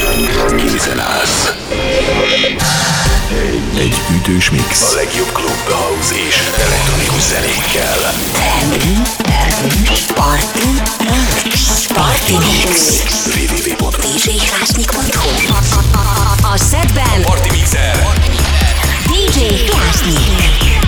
Készen állsz. Egy ütős mix. A legjobb klub, house és elektronikus zenékkel. Party Mix. www.djkrásnyik.hu. A setben Party Mixer. DJ Krásnyik.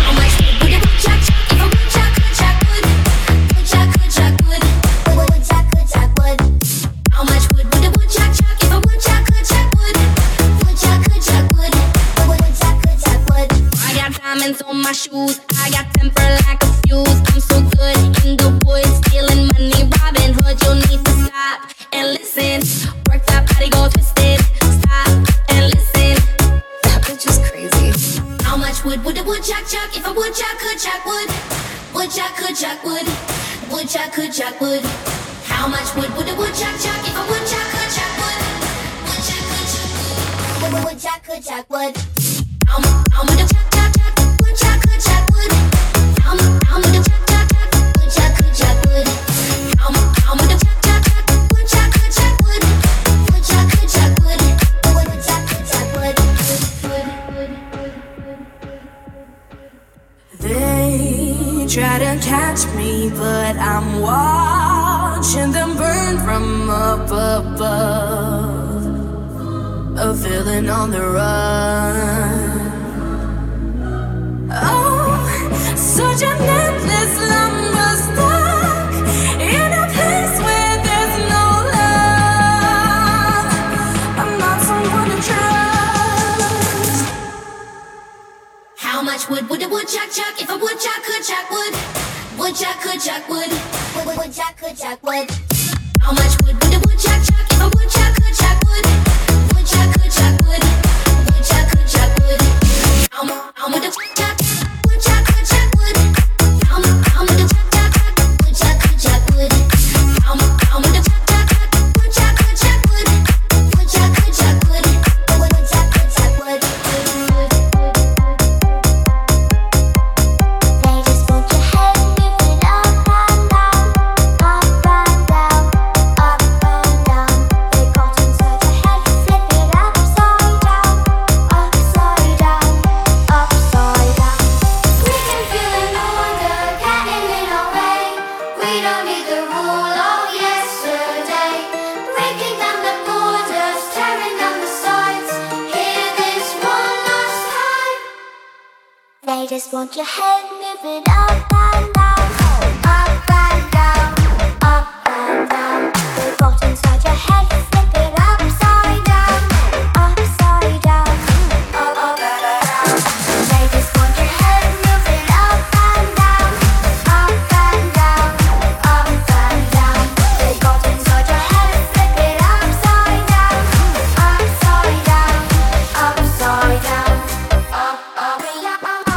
Diamonds on my shoes, I got temper like a fuse. I'm so good in the woods, stealing money, Robin Hood. You need to stop and listen. Work that body, go twisted. Stop and listen. That bitch is crazy. How much would a woodchuck chuck if a woodchuck could chuck wood? Woodchuck could chuck wood. Woodchuck could chuck wood. How much would a woodchuck chuck if a woodchuck could chuck wood? Woodchuck could chuck wood. Woodchuck could chuck wood. How much chuck chuck chuck? Woodchuck could chuck wood. How much chuck chuck chuck? Woodchuck could chuck wood. How much chuck chuck chuck? Woodchuck could chuck wood. Woodchuck could chuck wood. Woodchuck could chuck wood. They try to catch me, but I'm watching them burn from up above. A villain on the run. Oh, such an endless lumber stuck in a place where there's no love. I'm not someone to trust. How much would a woodchuck chuck if a woodchuck could chuck wood? Woodchuck could chuck wood. Woodchuck could chuck wood. How much would a woodchuck chuck if a woodchuck could chuck wood? Woodchuck could chuck wood. Woodchuck could chuck wood. How much a chuck woodchuck could chuck wood? How much a chuck woodchuck could chuck wood? How much a chuck woodchuck could chuck wood? Woodchuck could chuck wood. Woodchuck could chuck wood. They just want your head moving up and down, up and down, up and down. They got inside your head, flip it upside down, upside down, upside down. We can feel it no wonder, getting in our way. We don't need the rule of yesterday. Breaking down the borders, tearing down the sides. Hear this one last time. They just want your head moving up and down, up and down, up and down. They got inside your head, flip it upside down, upside down, up and down. They just want your head moving up and down, up and down, up and down. They got inside your head, flip it upside down, upside down, upside down, up and down.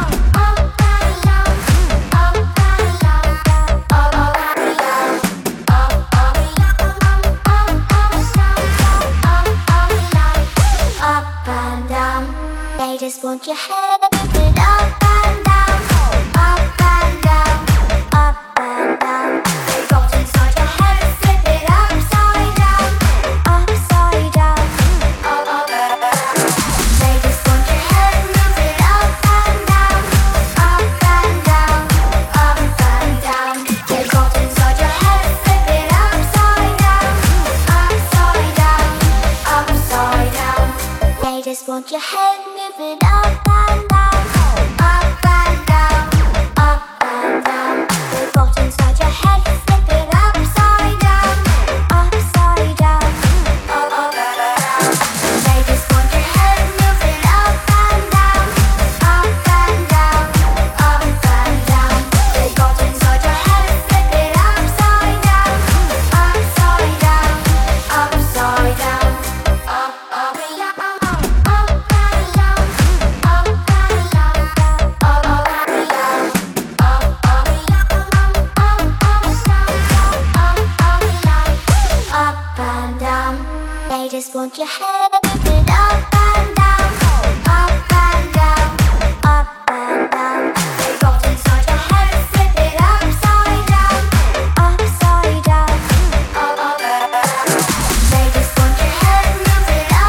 Up and down, they just want your head moving up and down, up and down, up and down. They got inside your head, flip it upside down, upside down, up and down. They just want your head moving up and down, up and down, up and down. They got inside your head, flip it upside down, upside down, upside down. They just want your head moving up and down, up and down, up and down. They got inside your head, flip it upside down, upside down, up and down. They just want your head moving up and down, up and down, up and down. They got inside your head, flip it upside down, upside down, upside down, up and down. Up and down, they just want your head moving up and down, up and down, up and down. They got inside your head, flip it upside down, upside down, up and down. They just want your head moving up.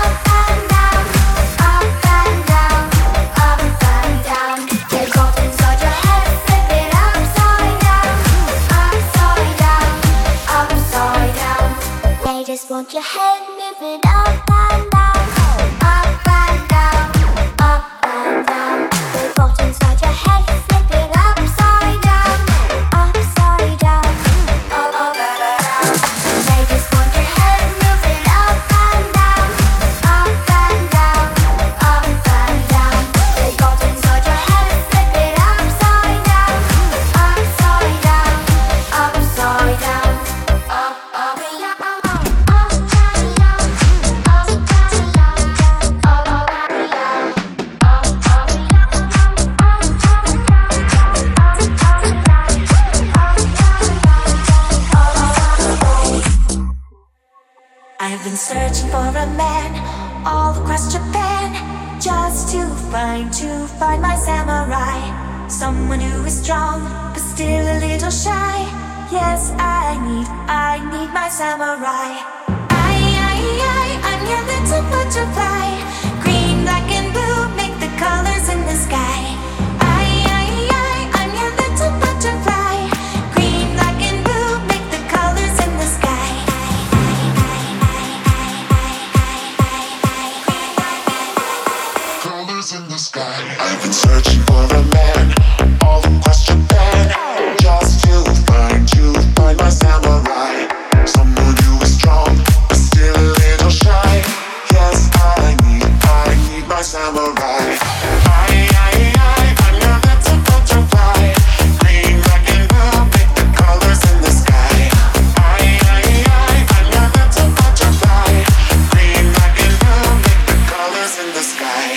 want your head moving up and down, up and down, up and down. The thought inside your head flipping upside down, upside down, up and down. They just want your head moving up and down, up and down, up and down. The thought inside your head flipping upside down, upside down, upside down, up, up, I've been searching for a man all across Japan, just to find my samurai. Someone who is strong but still a little shy. Yes, I need my samurai. I'm your little butterfly. Green, black and blue make the colors in the sky. I'm your little butterfly. Green, black and blue make the colors in the sky. Colors in the sky. I've been searching for a man all across Japan, just to find my samurai. Someone who is strong but still a little shy. Yes, I need my samurai. I'm your little butterfly. Green, black and blue make the colors in the sky. I'm your little butterfly. Green, black and blue make the colors in the sky.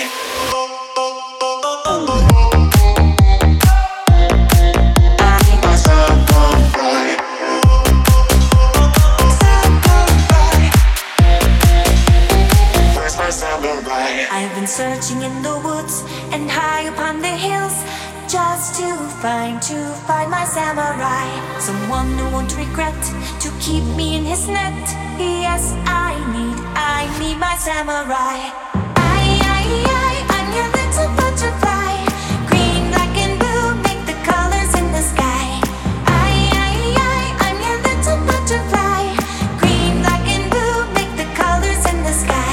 I've been searching in the woods and high upon the hills, just to find my samurai. Someone who won't regret to keep me in his net. Yes, I need my samurai. I'm your little butterfly. Green, black and blue make the colors in the sky. I'm your little butterfly. Green, black and blue make the colors in the sky.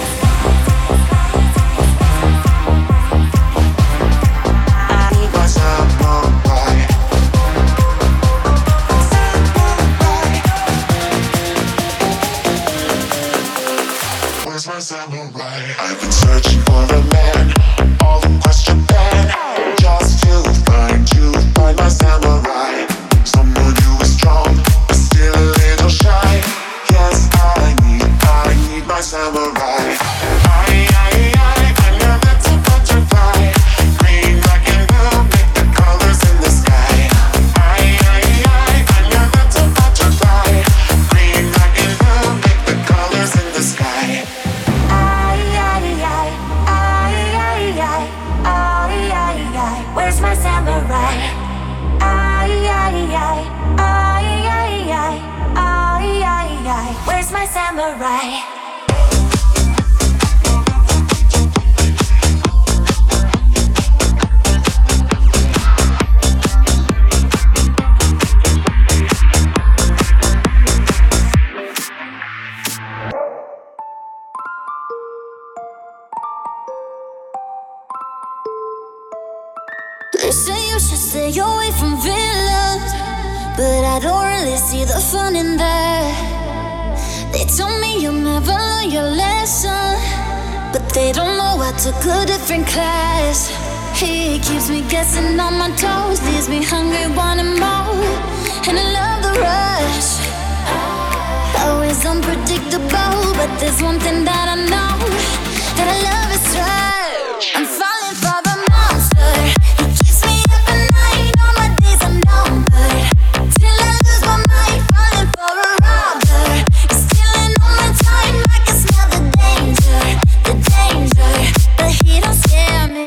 Where's my samurai? I've been searching for a man all across Japan, just to find my samurai. Someone who is strong but still a little shy. Yes, I need my samurai. I'm your little butterfly. Green, black and blue make the colors in the sky. I'm your little butterfly. Green, black and blue make the colors in the sky. Where's my samurai? Where's my samurai? They say you should stay away from villains, but I don't really see the fun in that. They told me you'll never learn your lesson, but they don't know I took a different class. He keeps me guessing on my toes, leaves me hungry, wanting more, and I love the rush. Always unpredictable, but there's one thing that I know, that I love is rush. I'm falling for the monster. He keeps me up at night, all my days are numbered, till I lose my mind, falling for a robber. He's stealing all my time, I can smell the danger, but he don't scare me.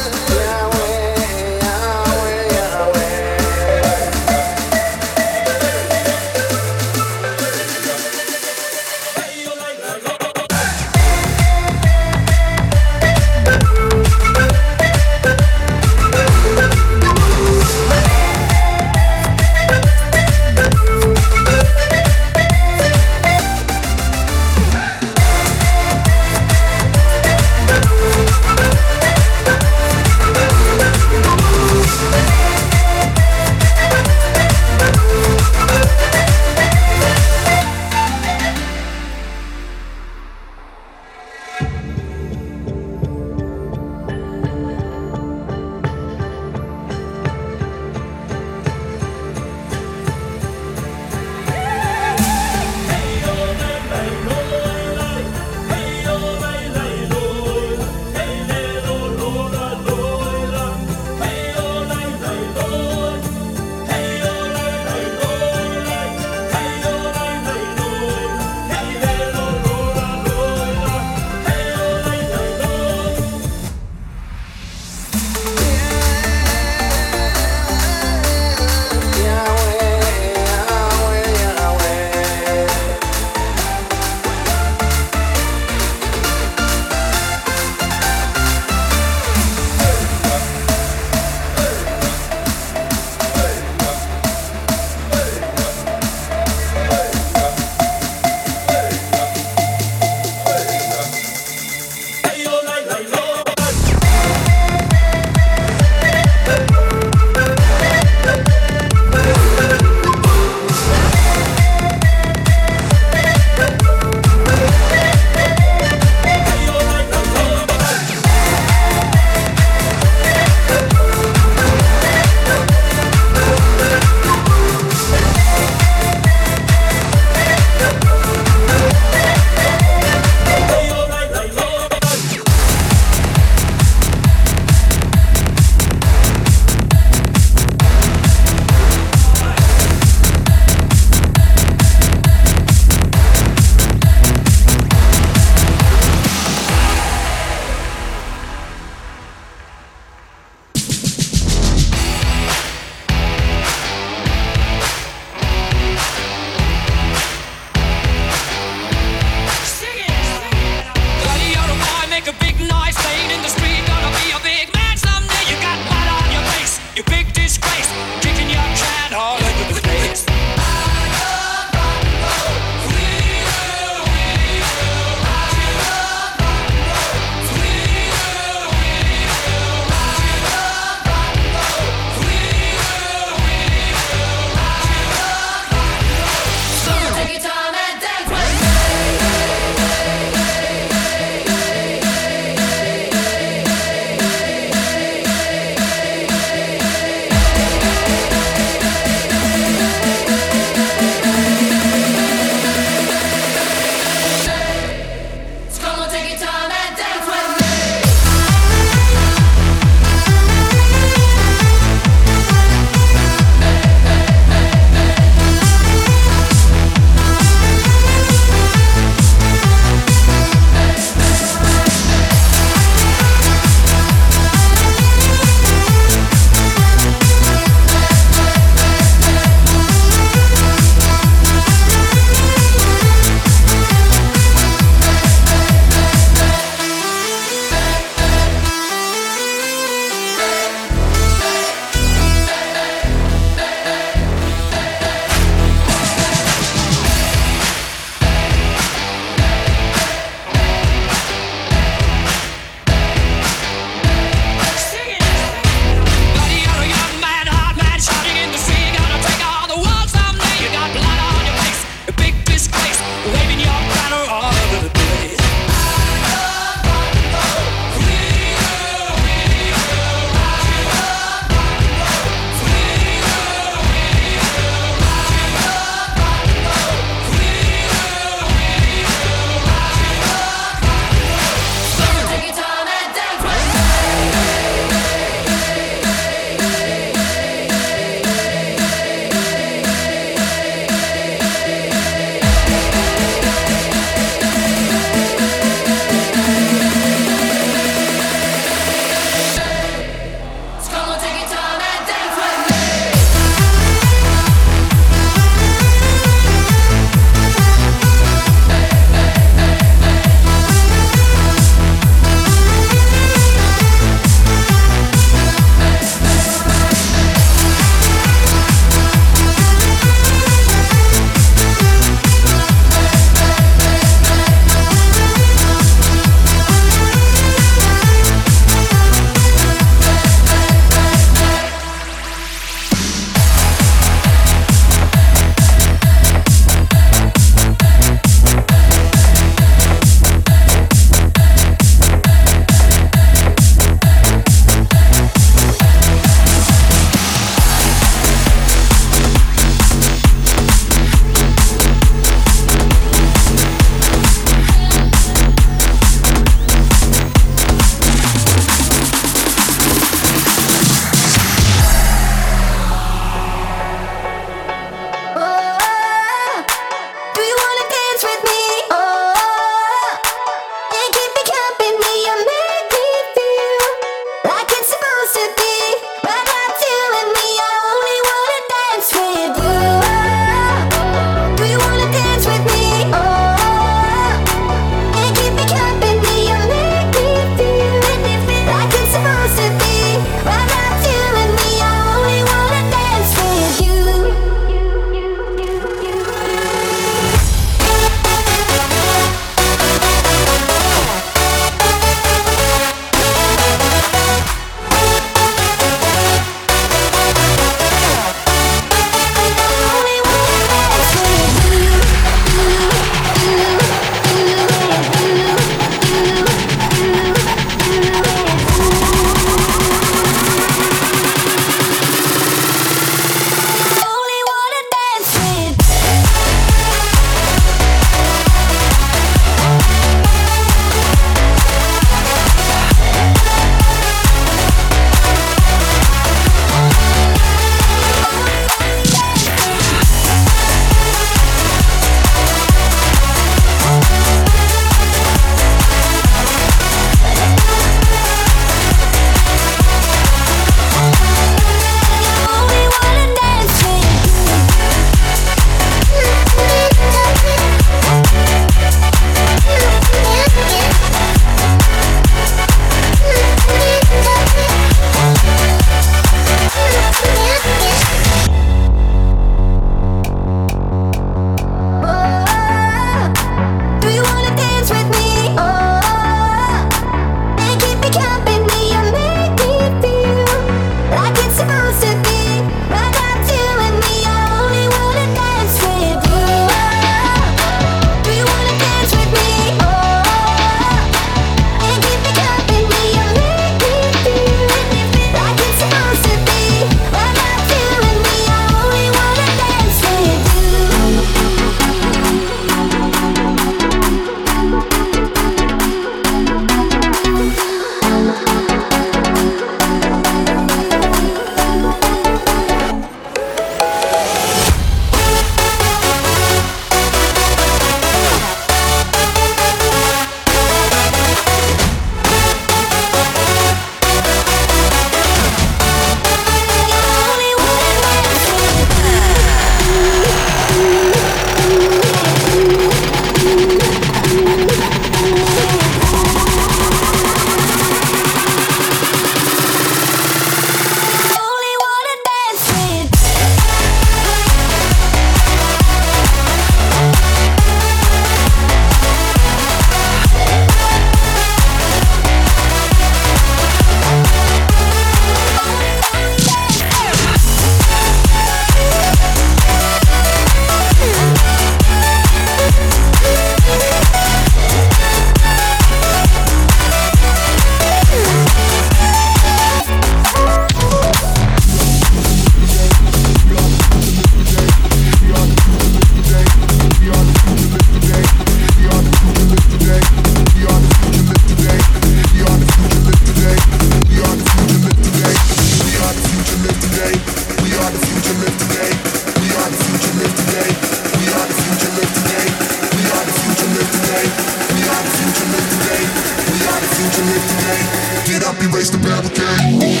up, erase the barricade.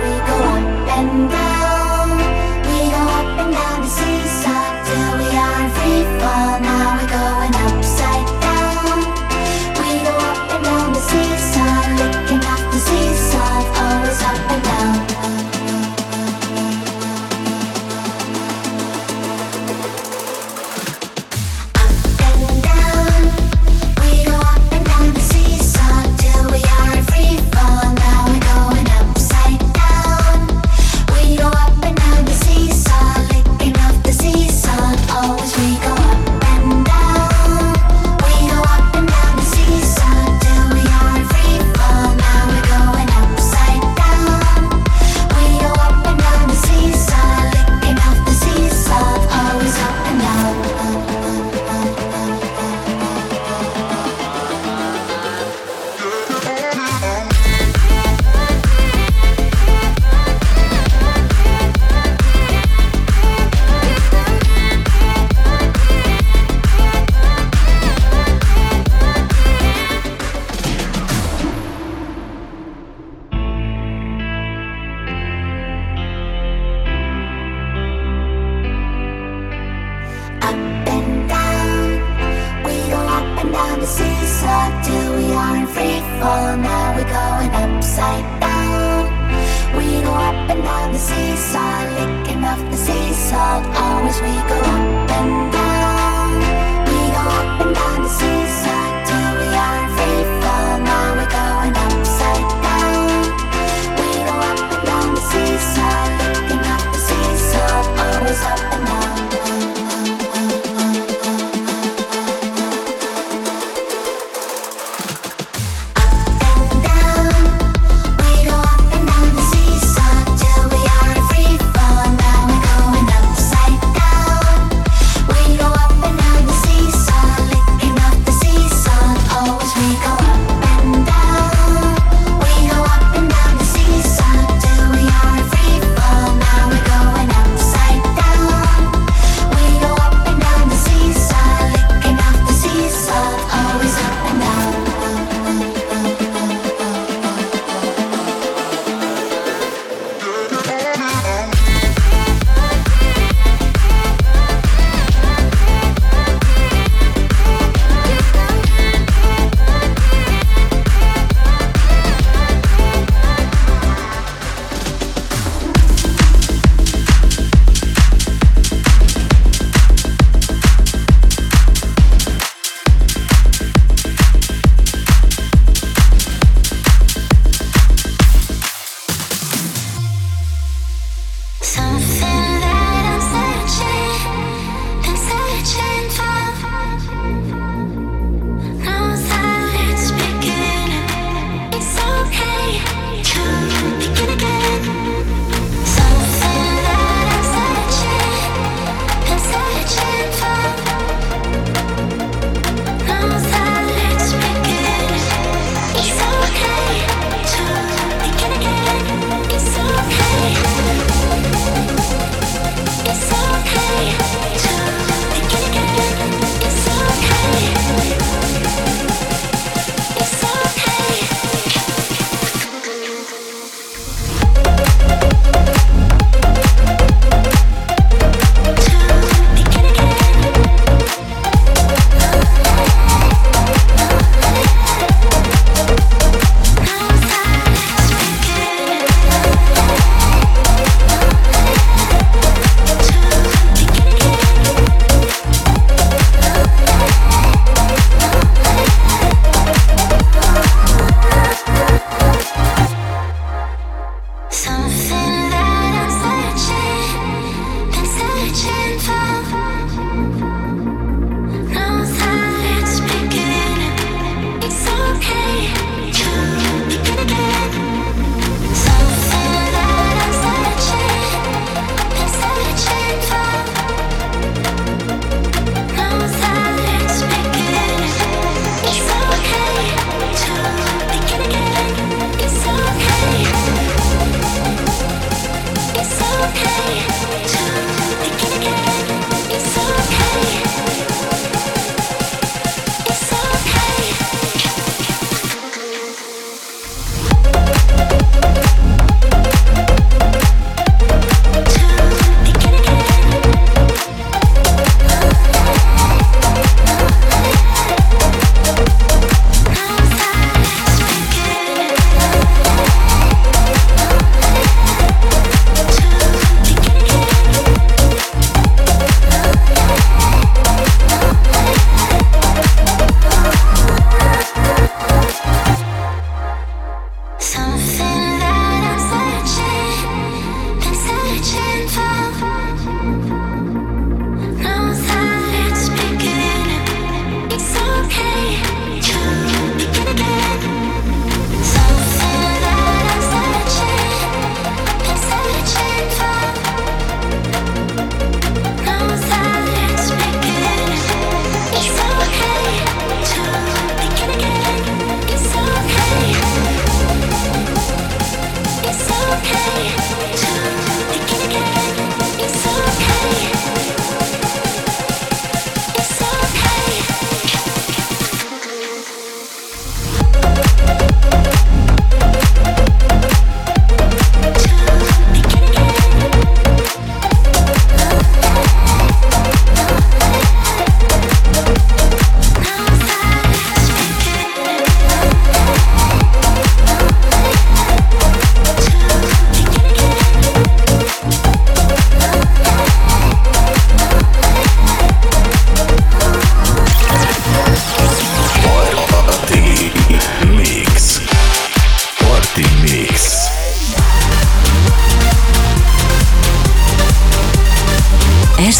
we go up and down. We go up and down the seesaw till we are in free fall. Now we're going upside down. We go up and down the seesaw, licking off the seesaw, always up and down.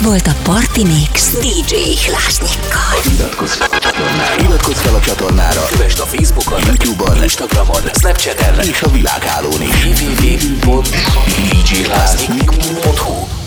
volt a Party Mix DJ Hlásnyikkal. Iratkozz fel a csatornára, kövesd a Facebookon, YouTube-on, Instagramon, Snapchaten és a világhálón is. www.djhlásnyik.hu